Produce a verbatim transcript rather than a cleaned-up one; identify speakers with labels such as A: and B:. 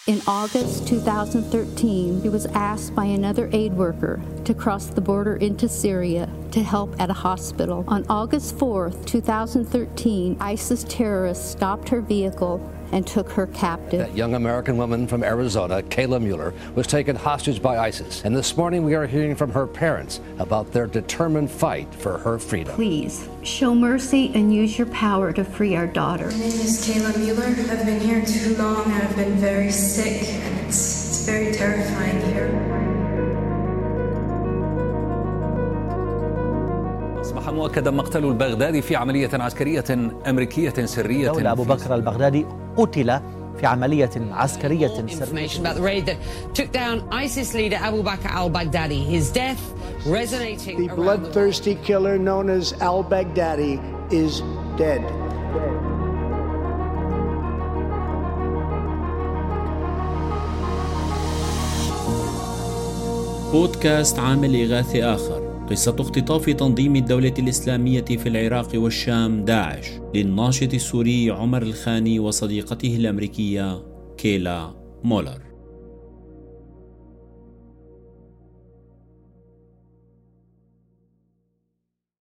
A: In August two thousand thirteen, he was asked by another aid worker to cross the border into Syria to help at a hospital. On August fourth, two thousand thirteen, ISIS terrorists stopped her vehicle and took her captive.
B: That young American woman from Arizona, Kayla Mueller, was taken hostage by ISIS. And this morning we are hearing from her parents about their determined fight for her freedom.
A: Please, show mercy and use your power to free our daughter.
C: My name is Kayla Mueller. I've been here too long and I've been very sick, and it's, it's very terrifying here.
D: أصبح مؤكدا مقتل البغدادي في عملية عسكرية أمريكية سرية.
E: دولة أبو بكر البغدادي قتل في عملية عسكرية سرية.
F: The bloodthirsty killer known as al-Baghdadi is dead.
G: بودكاست عامل إغاثي آخر، قصة اختطاف تنظيم الدولة الإسلامية في العراق والشام داعش للناشط السوري عمر الخاني وصديقته الأمريكية كيلا مولر.